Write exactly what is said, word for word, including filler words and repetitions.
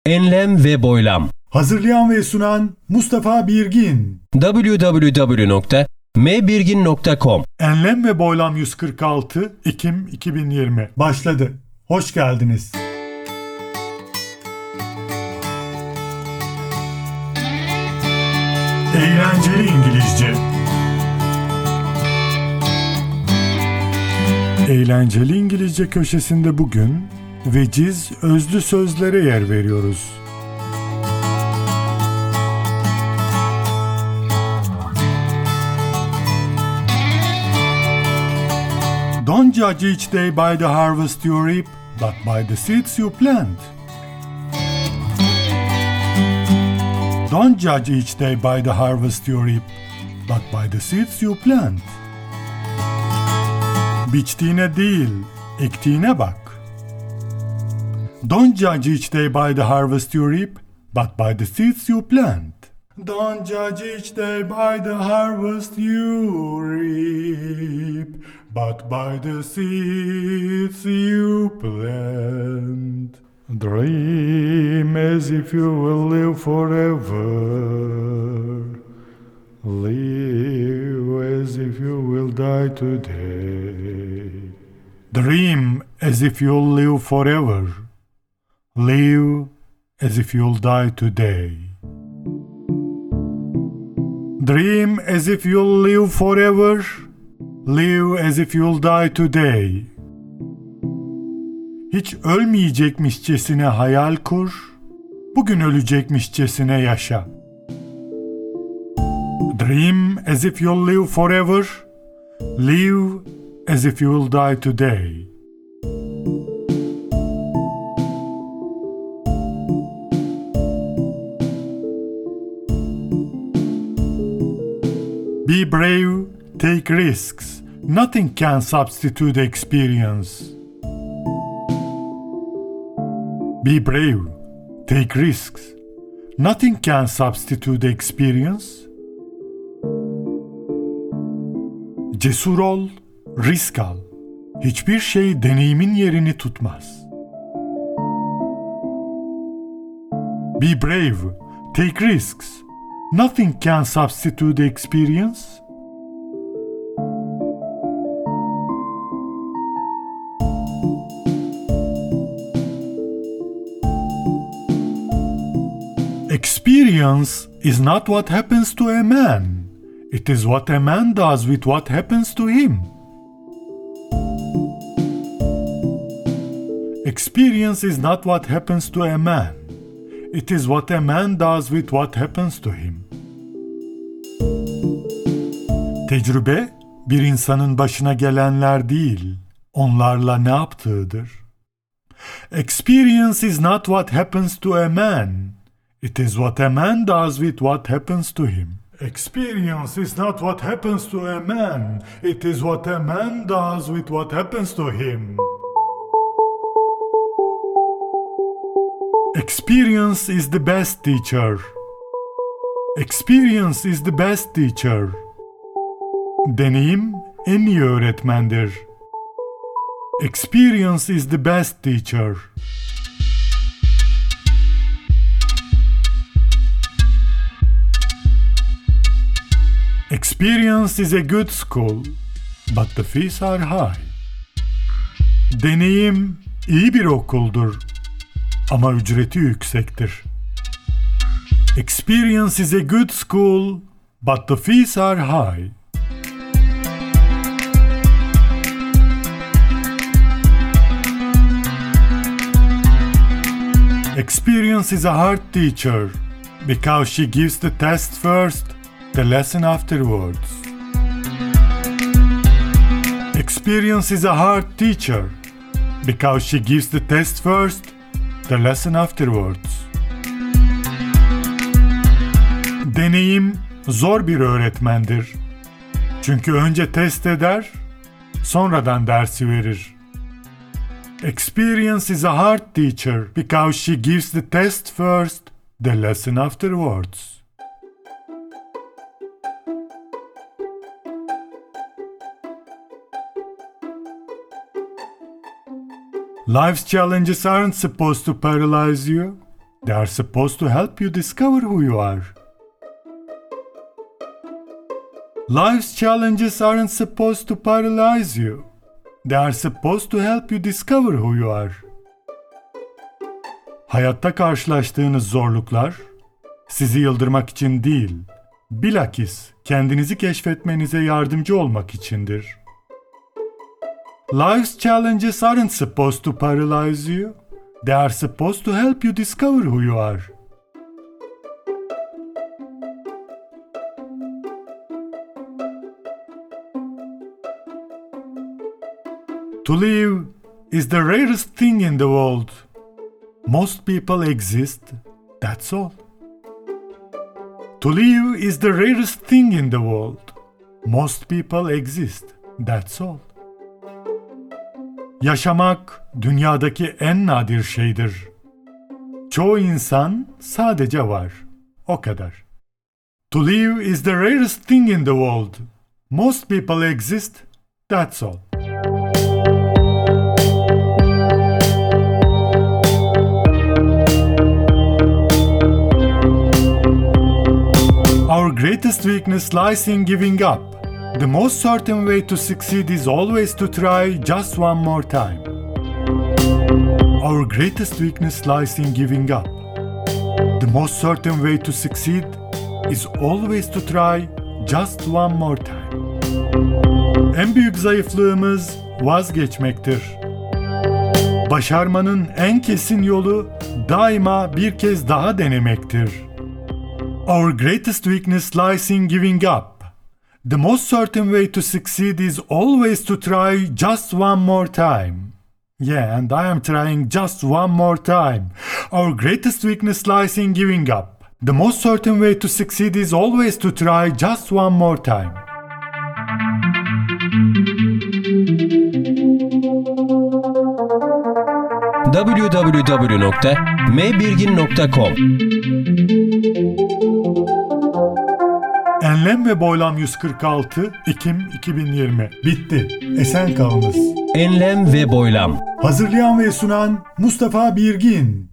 Enlem ve boylam. Hazırlayan ve sunan Mustafa Birgin. double-u double-u double-u nokta m birgin nokta com. Enlem ve Boylam yüz kırk altı Ekim iki bin yirmi başladı. Hoş geldiniz. Eğlenceli İngilizce. Eğlenceli İngilizce köşesinde bugün veciz özlü sözlere yer veriyoruz. Don't judge each day by the harvest you reap, but by the seeds you plant. Don't judge each day by the harvest you reap, but by the seeds you plant. Biçtiğine değil, ektiğine bak. Don't judge each day by the harvest you reap, but by the seeds you plant. Don't judge each day by the harvest you reap, but by the seeds you plant. Dream as if you will live forever. Live as if you will die today. Dream as if you'll live forever. Live as if you'll die today. Dream as if you'll live forever. Live as if you'll die today. Hiç ölmeyecekmişçesine hayal kur, bugün ölecekmişçesine yaşa. Dream as if you'll live forever. Live as if you'll die today. Be brave, take risks. Nothing can substitute experience. Be brave, take risks. Nothing can substitute experience. Cesur ol, risk al. Hiçbir şey deneyimin yerini tutmaz. Be brave, take risks. Nothing can substitute experience. Experience is not what happens to a man. It is what a man does with what happens to him. Experience is not what happens to a man. It is what a man does with what happens to him. Tecrübe, bir insanın başına gelenler değil, onlarla ne yaptığıdır. Experience is not what happens to a man. It is what a man does with what happens to him. Experience is not what happens to a man. It is what a man does with what happens to him. Experience is the best teacher. Experience is the best teacher. Deneyim en iyi öğretmendir. Experience is the best teacher. Experience is a good school, but the fees are high. Deneyim iyi bir okuldur, ama ücreti yüksektir. Experience is a good school, but the fees are high. Experience is a hard teacher, because she gives the test first, the lesson afterwards. Experience is a hard teacher, because she gives the test first, the lesson afterwards. Deneyim zor bir öğretmendir. Çünkü önce test eder, sonradan dersi verir. Experience is a hard teacher, because she gives the test first, the lesson afterwards. Life's challenges aren't supposed to paralyze you. They are supposed to help you discover who you are. Life's challenges aren't supposed to paralyze you. They are supposed to help you discover who you are. Hayatta karşılaştığınız zorluklar sizi yıldırmak için değil, bilakis kendinizi keşfetmenize yardımcı olmak içindir. Life's challenges aren't supposed to paralyze you. They are supposed to help you discover who you are. To live is the rarest thing in the world. Most people exist, that's all. To live is the rarest thing in the world. Most people exist, that's all. Yaşamak dünyadaki en nadir şeydir. Çoğu insan sadece var, o kadar. To live is the rarest thing in the world. Most people exist, that's all. Our greatest weakness lies in giving up. The most certain way to succeed is always to try just one more time. Our greatest weakness lies in giving up. The most certain way to succeed is always to try just one more time. En büyük zayıflığımız vazgeçmektir. Başarmanın en kesin yolu daima bir kez daha denemektir. Our greatest weakness lies in giving up. The most certain way to succeed is always to try just one more time. Yeah, and I am trying just one more time. Our greatest weakness lies in giving up. The most certain way to succeed is always to try just one more time. w w w nokta m birgin nokta com Enlem ve Boylam yüz kırk altı Ekim iki bin yirmi. Bitti. Esen kalınız. Enlem ve Boylam. Hazırlayan ve sunan Mustafa Birgin.